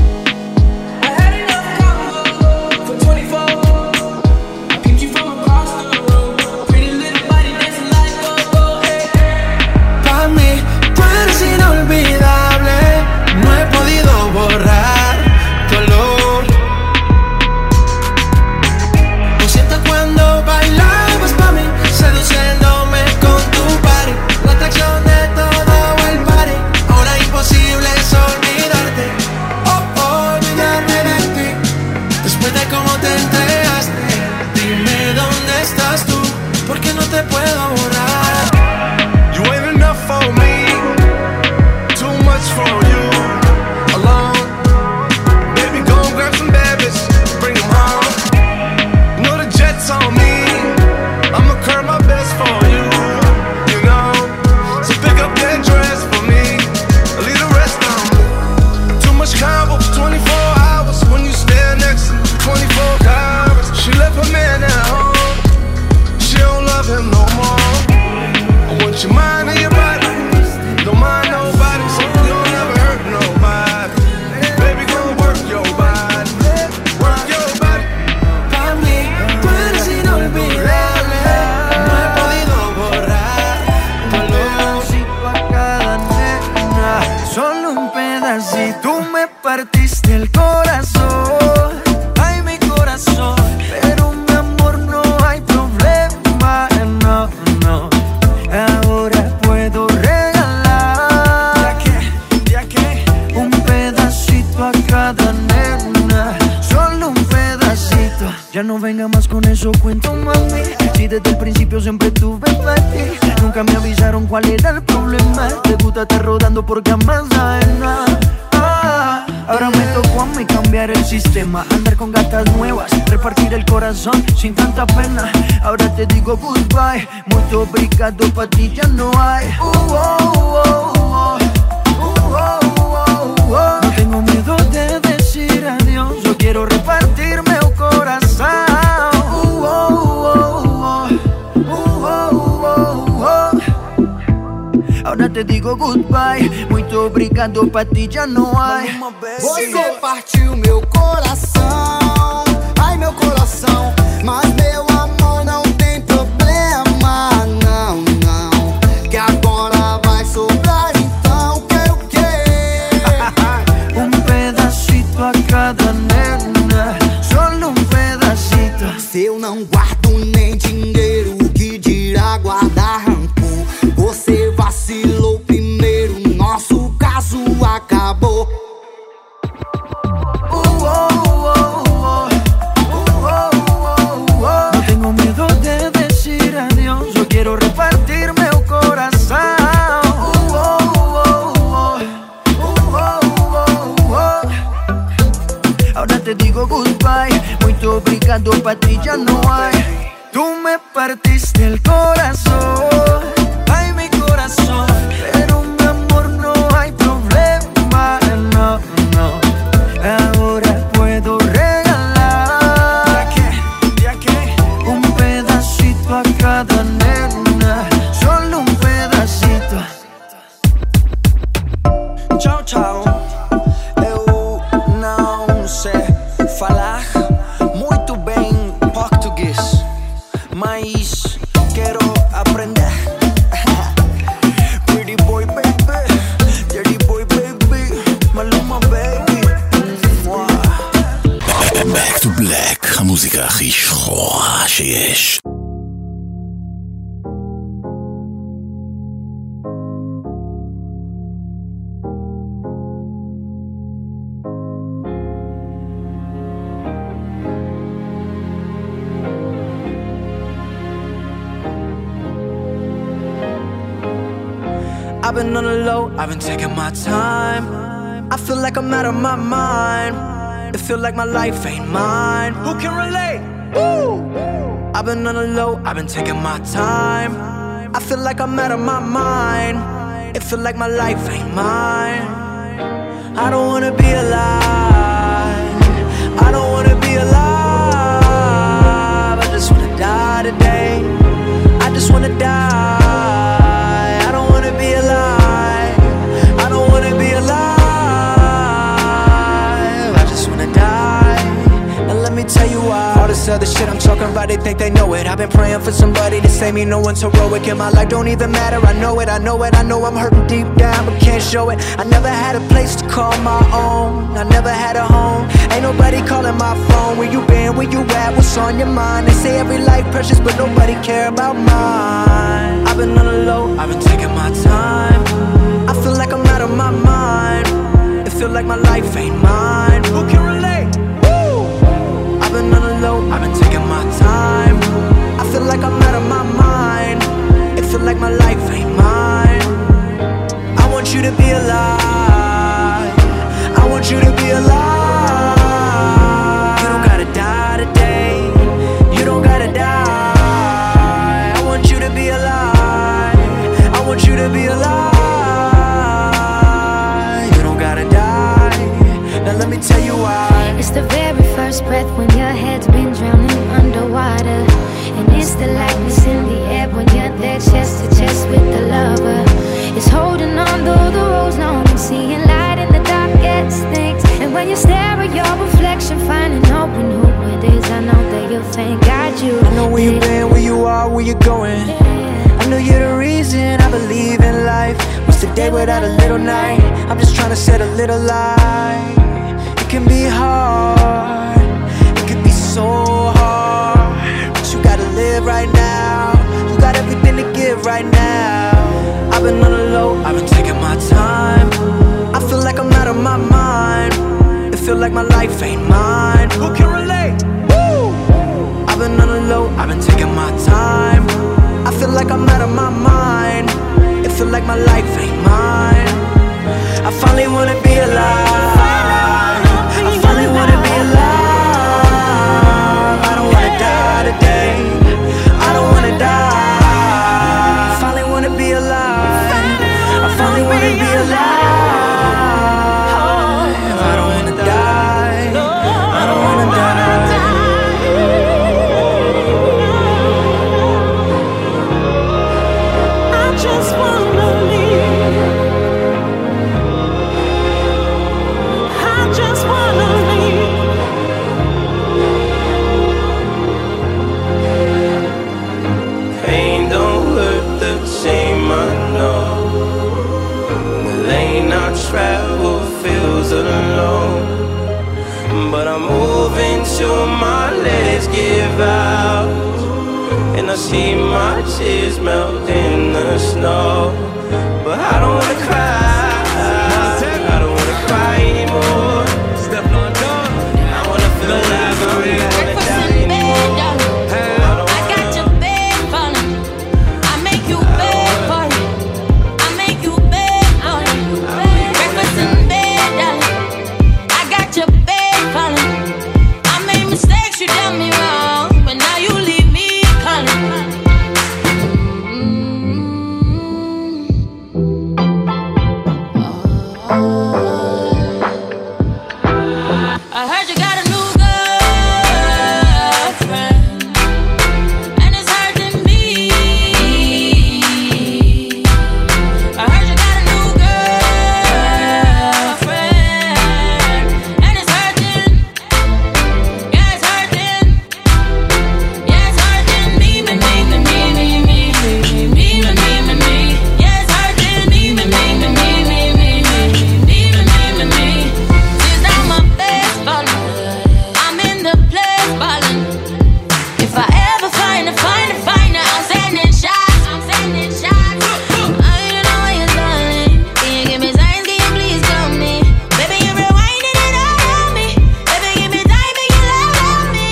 cuento, mami. Si desde el principio siempre tuve para ti. Nunca me avisaron cuál era el problema. Te gusta estar rodando por camas ajenas. Ah, ahora me tocó a mí cambiar el sistema. Andar con gatas nuevas, repartir el corazón sin tanta pena. Ahora te digo goodbye. Muy obrigado, pa' ti ya no hay. Uh, oh, oh, oh. Uh, oh, oh, oh. No tengo miedo de decir adiós. Yo quiero repartirme el corazón. Uh, oh, oh, oh. Uh, oh, oh, oh. Ahora te digo goodbye. Muito obrigado, pra ti já não há. Você partiu meu coração. Ai, meu coração. Mas meu amor não tem problema. Não, não. Que agora vai sobrar, então quero o quê? Um pedacito a cada nena. Só um pedacito. Se eu não guardo nem dinheiro, que dirá guardar rancor? Você vacilou primeiro, nosso caso acabou. Uh, oh, oh, oh. Uh, oh, oh, oh. No tengo miedo de decir adiós. Yo quiero repartir meu coração. Uh, oh, oh, oh. Uh, oh, oh, oh. Ahora te digo goodbye. Muito obrigado, pa' ti ya no hay. Tú me partiste el corazón. Ay, mi corazón. Pero mi amor no hay problema. No, no. Ahora puedo regalar. ¿Ya qué? ¿Ya qué? Un pedacito a cada nena. Solo un pedacito. Tchau, tchau. Eu não sei falar muito bem português, mas quero aprender. Pretty boy baby, dirty boy baby, Maluma baby. Back to Black, המוזיקה הכי שחורה שיש. I've been on the low, I've been taking my time. I feel like I'm out of my mind. It feel like my life ain't mine. Who can relate? Woo! I've been on the low, I've been taking my time. I feel like I'm out of my mind. It feel like my life ain't mine. I don't wanna be alive. I don't wanna be alive. I just wanna die today. I just wanna die. I don't wanna be alive. I don't wanna be alive. I just wanna die. Now let me tell you why. All this other shit I'm talking about, they think they know it. I've been praying for somebody to save me. No one's heroic in my life, don't even matter. I know it, I know it, I know I'm hurting deep down, but can't show it. I never had a place to call my own. I never had a home. Ain't nobody calling my phone. Where you been, where you at, what's on your mind? They say every life precious, but nobody care about mine. I've been on the low, I've been taking my time. I feel like I'm out of my mind. It feel like my life ain't mine. Who can relate? Woo! I've been on the low, I've been taking my time. I feel like I'm out of my mind. It feel like my life ain't mine. I want you to be alive. I want you to be alive. You don't gotta die today. You don't gotta die. I want you to be alive. I want you to be alive. You don't gotta die. Now let me tell you why. It's the very first breath when your head's been drowning underwater. And it's the lightness in the air when you're there chest to chest with the lover. It's holding on though the road's long and seeing light in the darkest things. And when you stare at your reflection, finding out when who it is, I know that you'll thank God you. I know where you've been, where you are, where you're going. I know you're the reason I believe in life. What's the day without a little night? I'm just trying to set a little light. It can be hard, it can be so hard, but you gotta live right now. You got everything to give right now. I've been on the low, I've been taking my time. I feel like I'm out of my mind. It feel like my life ain't mine. Who can relate? Woo! I've been on the low, I've been taking my time. I feel like I'm out of my mind. It feel like my life ain't mine. I finally wanna be alive. I finally wanna be alive. I don't wanna die today. I don't wanna die. I finally wanna be alive. I finally wanna be alive. I don't wanna die. I don't wanna die. I just wanna live. I just wanna live. Pain don't hurt the same, I know. The lane I travel feels alone, but I'm moving till my legs give out, and I see my tears melt in the snow. But I don't wanna cry, I don't wanna cry anymore. Step on door, I wanna feel alive, I don't wanna die anymore. I got your bed falling. I make you bed for it. I make you bed for it. Breakfast in bed, darling. I got your bed falling. I made mistakes, you done me wrong, but now you leave me calling. I heard you got a new girlfriend, and it's hurting me. I heard you got a new girlfriend, and it's hurting. Yeah, it's hurting. Yeah, it's hurting me, me, me, me, me, me, me, me, me, me, me, me. Yeah, it's hurting me, me, me, me, me, me, me, me, me, me, me, me. Tears down my face falling. I'm in the place falling. If I ever find a, find a, find a, I'm sending shots. I'm sending shots. I don't know what you're darling. Can you give me signs? Can you please come me? Baby, you're rewinding it all on me. Baby, give me time, make you love on me.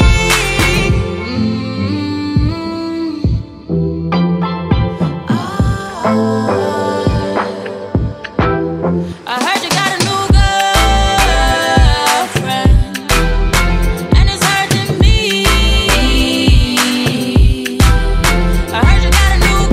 I heard you got a new girlfriend, and it's hurting me. I heard you got a new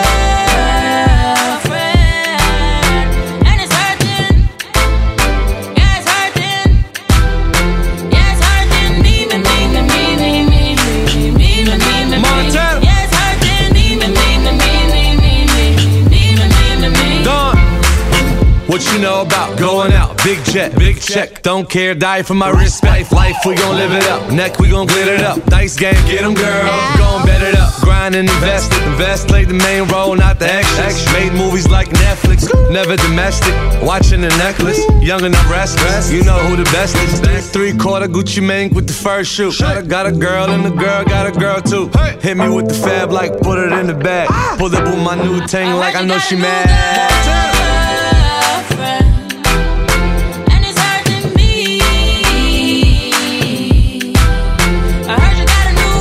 girlfriend, and it's hurting. Yeah, it's hurting. Yeah, it's hurting me, me, me, me, me, me, me, me, me, me, me, me. Montana. Yeah, it's hurting me, me, me, me, me, me, me, me, me, me, me, me. Dawn. What you know about going out? Big jet, big check, don't care, die for my respect. Life, we gon' live it up. Neck, we gon' glitter it up. Dice game, get 'em, girl. Gon' bet it up. Grind and invest it. Invest, play the main role, not the extras. Made movies like Netflix, never domestic. Watching the necklace, young and I'm restless. You know who the best is. Three quarter Gucci Mane with the first shoe. Got a, got a girl and the girl got a girl too. Hit me with the fab like put it in the bag. Pull up with my new ting like I know she mad. And it's hurting me. I heard you got a new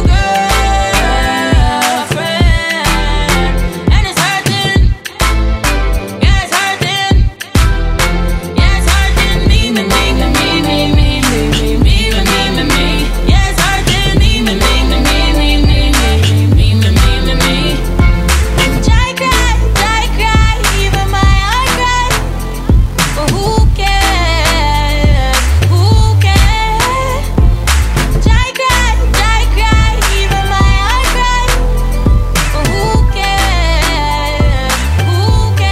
girlfriend, and it's hurting. Yeah, it's hurting. Yeah, it's hurting me, me, me, me, me, me, me, me, me, me, me, me. Yeah, it's hurting me, me, me, me, me, me, me, me, me, me, me, me. I cry, I cry, even my heart cry. But who cares? Who cares? I cry, I cry, even my heart cry. But who cares? Who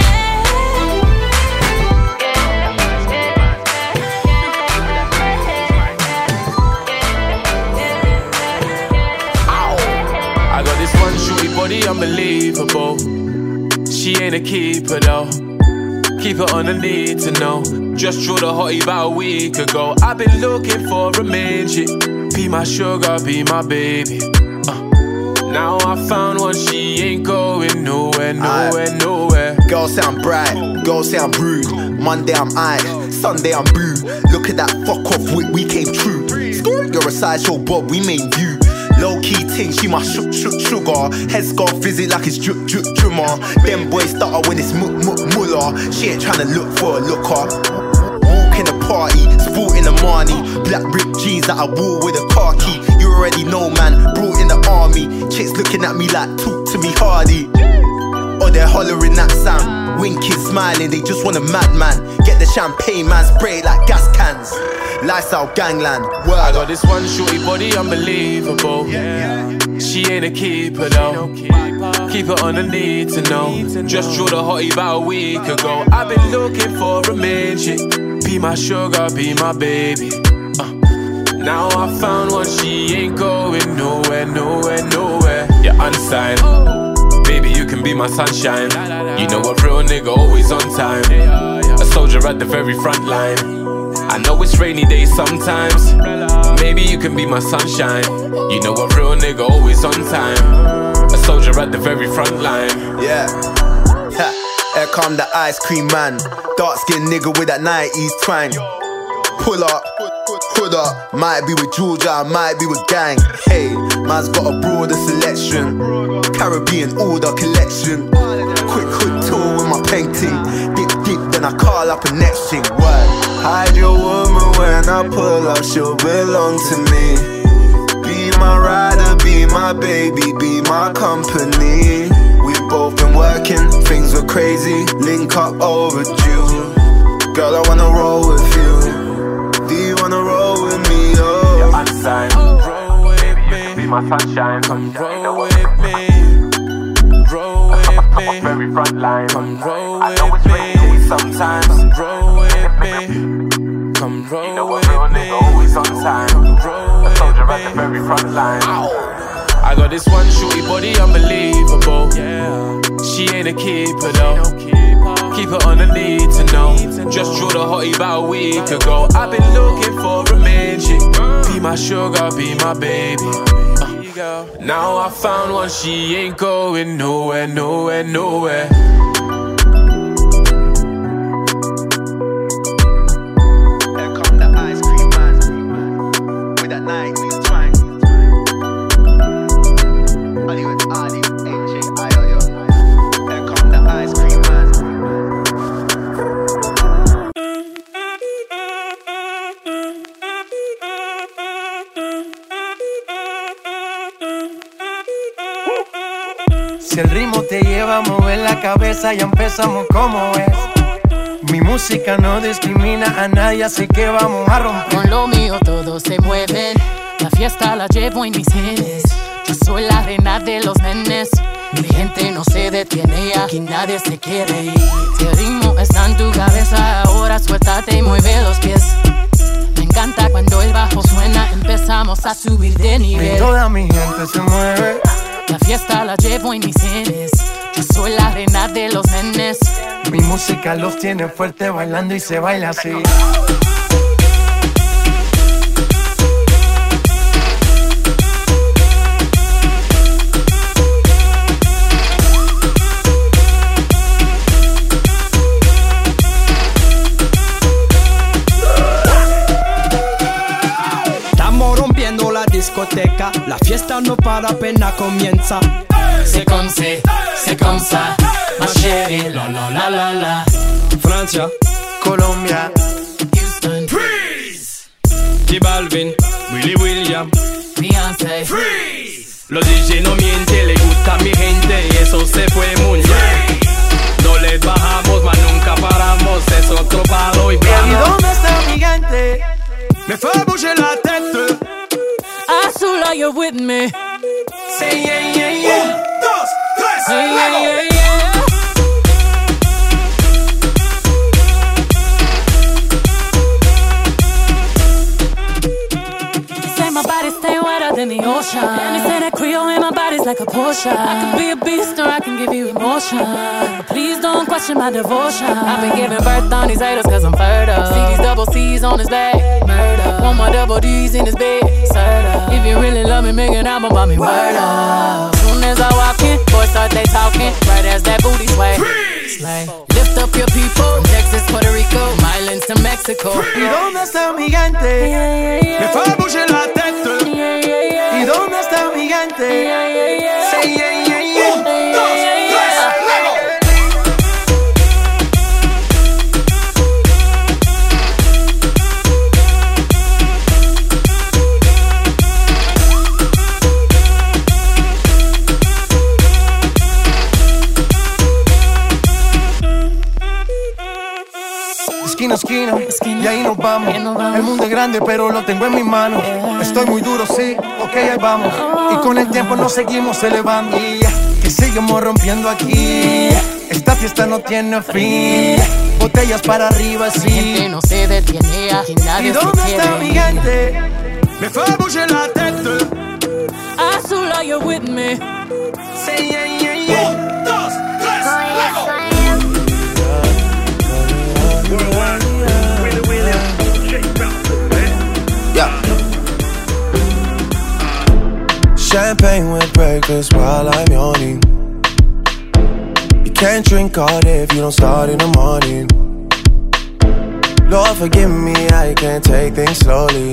I got this one shorty body unbelievable. She ain't a keeper though. Keep her on the need to know. Just drew the hottie about a week ago. I've been looking for a main chick. Be my sugar, be my baby. Uh, now I found one, she ain't going nowhere, nowhere, nowhere. Girls sound bright, girls sound rude. Monday I'm aight, Sunday I'm boo. Look at that fuck off whip, we came true. You're a sideshow Bob, we made you. Low key ting, she my shook shook sugar. Head scarf visit like it's drip drip drummer. Them boys stutter when it's muk muk muller. She ain't tryna look for a looker. Walk in the party, sporting the money. Black ripped jeans that I wore with a car key. You already know, man, brought in the army. Chicks looking at me like, talk to me hardy. Or they're hollering that sound. Winking, smiling, they just want a madman. Get the champagne, man, spray it like gas cans. Lifestyle gangland, word. I got this one shorty body, unbelievable. She ain't a keeper though. Keep her on the need to know. Just drew the hottie about a week ago. I've been looking for a main chick. Be my sugar, be my baby. uh. Now I found one, she ain't going nowhere, nowhere, nowhere. You're unsigned. Baby, you can be my sunshine. You know a real nigga always on time. A soldier at the very front line. I know it's rainy days sometimes. Maybe you can be my sunshine. You know a real nigga always on time. A soldier at the very front line. Yeah. Ha. Here come the ice cream man. Dark skinned nigga with that nineties twang. Pull up, hood up. Might be with Georgia, might be with gang. Hey, man's got a broader selection. Caribbean order collection. Quick hood tour with my painting. Dip dip, then I call up a next thing. Word. Hide your woman when I pull up, she'll belong to me. Be my rider, be my baby, be my company. We've both been working, things were crazy. Link up overdue. Girl, I wanna roll with you. Do you wanna roll with me? Oh, you're unsigned. Roll with me. Be my sunshine. Come roll with me. Roll with me. Very front line. Come roll with me. Sometimes roll with me. Come roll you know with real me. Nigga always on time. Roll a soldier with at the very front line. Ow. I got this one shorty body, unbelievable. Yeah. She ain't a keeper though. Keep her on the need to know. Just drew the hottie about a week ago. I've been looking for a main chick. Be my sugar, be my baby. Uh, now I found one, she ain't going nowhere, nowhere, nowhere. Si el ritmo te lleva a mover la cabeza, ya empezamos como es. Mi música no discrimina a nadie, así que vamos a romper. Con lo mío todos se mueven, la fiesta la llevo en mis genes. Yo soy la reina de los nenes, mi gente no se detiene y aquí nadie se quiere ir. Si el ritmo está en tu cabeza, ahora suéltate y mueve los pies. Me encanta cuando el bajo suena, empezamos a subir de nivel. Y toda mi gente se mueve. La fiesta la llevo en mis genes. Yo soy la reina de los nenes. Mi música los tiene fuerte bailando y se baila así. Discoteca, la fiesta no para, apenas comienza. C'est comme c'est, c'est comme ça, ma chérie, la la la la la. Francia, Colombia, Houston, Freeze. J Balvin, Willy William, Beyoncé, Freeze. Los D J no mienten, le gusta a mi gente y eso se fue muy bien. No les bajamos, mas nunca paramos, es otro palo y vamos. ¿Y dónde está mi gente? Me fait bouger la tête. Azul, you're with me. Say yeah, yeah, yeah. Un, dos, tres, hey, yeah, yeah, yeah. Say my body stay wetter than the ocean. And they say that Creole in my body's like a Porsche. I can be a beast or I can give you emotion. Please don't question my devotion. I've been giving birth on these haters cause I'm fertile. See these double C's on his back. Murder. Want my double D's in his bed. Serta. If you really love me, make an album about me. Word up. Soon as I walk in, boys start they talking. Right as that booty sway. Slay. Lift up your people. From Texas, Puerto Rico, Islands to Mexico. ¿Y dónde está mi gente? Yeah, yeah, yeah. Me fait bouger la tête. Yeah, yeah, yeah. ¿Y dónde está mi gigante. Yeah, yeah, yeah. Say yeah, yeah, yeah. Un, dos, tres, Esquina a esquina, y ahí nos vamos. El mundo es grande, pero lo tengo en mis manos. Estoy muy duro, sí, ok, ahí vamos. Y con el tiempo nos seguimos elevando. Y seguimos rompiendo aquí. Esta fiesta no tiene fin. Botellas para arriba, sí. La gente no se detiene, aquí nadie ¿Y se dónde quiere. está mi gente? Me fue bouger la tête. Azul, are you with me? Say yeah, yeah, yeah. Un, dos, tres, lego. Yeah. Champagne with breakfast while I'm yawning. You can't drink all day if you don't start in the morning. Lord forgive me, I can't take things slowly.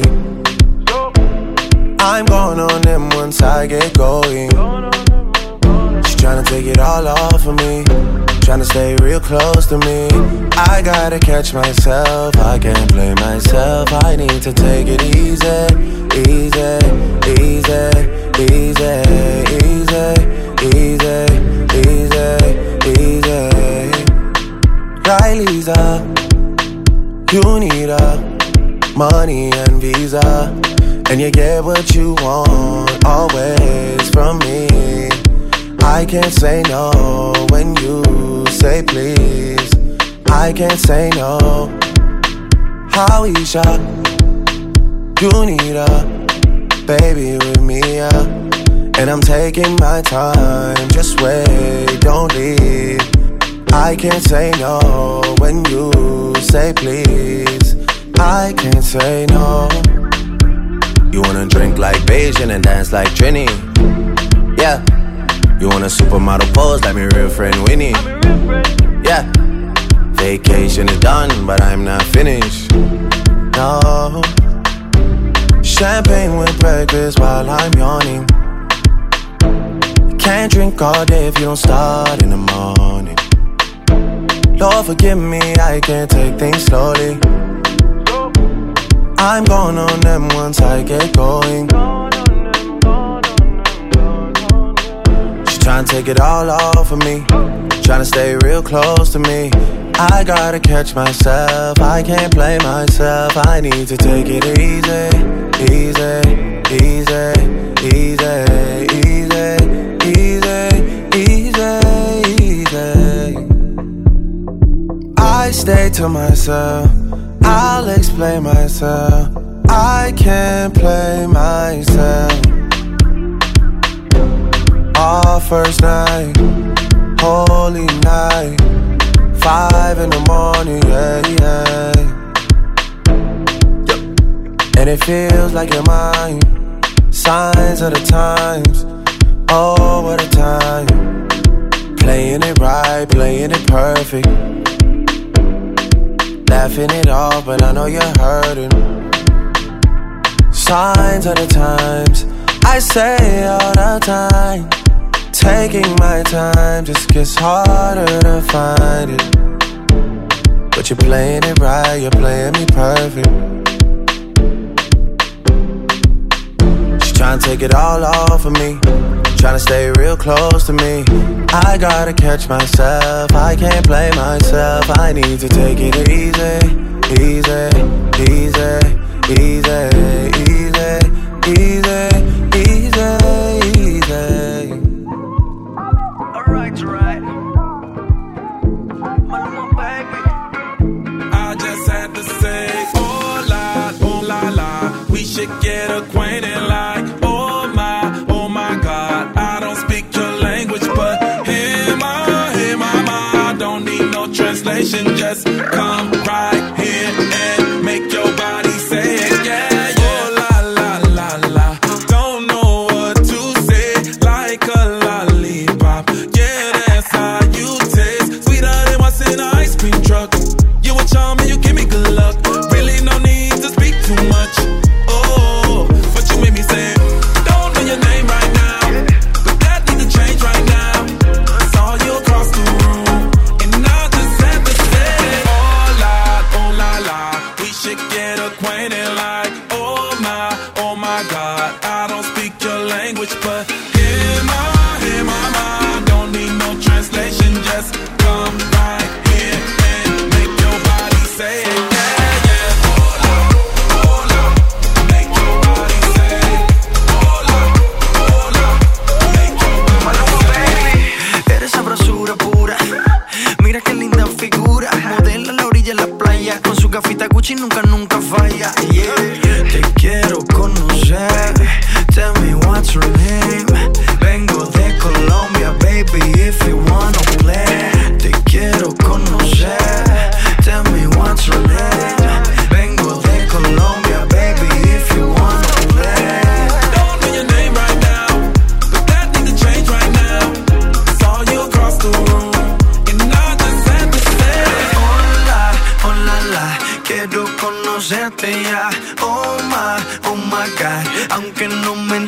I'm going on them once I get going. She's trying to take it all off of me, trying to stay real close to me. I gotta catch myself, I can't play myself. I need to take it easy, easy, easy, easy, easy, easy, easy, easy. Right, Lisa, you need a money and visa, and you get what you want always from me. I can't say no when you say please. I can't say no. Howisha, you need a baby with me, yeah. And I'm taking my time, just wait, don't leave. I can't say no when you say please. I can't say no. You wanna drink like Beijing and dance like Trini, yeah. You want a supermodel pose like my real friend Winnie, yeah. Vacation is done, but I'm not finished, no. Champagne with breakfast while I'm yawning. Can't drink all day if you don't start in the morning. Lord forgive me, I can't take things slowly. I'm going on them once I get going. Trying to take it all off of me, trying to stay real close to me. I gotta catch myself, I can't play myself. I need to take it easy, easy, easy, easy, easy, easy, easy. I stay to myself, I'll explain myself. I can't play myself. Our first night, holy night, five in the morning, yeah, yeah. And it feels like you're mine, signs of the times, oh, what a time. Playing it right, playing it perfect, laughing it off, but I know you're hurting. Signs of the times, I say all the time. Taking my time just gets harder to find it. But you're playing it right, you're playing me perfect. She's trying to take it all off of me, trying to stay real close to me. I gotta catch myself, I can't play myself. I need to take it easy, easy, easy, easy, easy, easy, easy, easy. Alright, right. Maluma, baby. I just had to say, oh la, oh la la. We should get acquainted like, oh my, oh my God. I don't speak your language, but hey ma, hey mama. I don't need no translation, just come right here and make your body say it, yeah. Say, don't know your name right now. conocerte ya. Oh my, oh my God. Aunque no me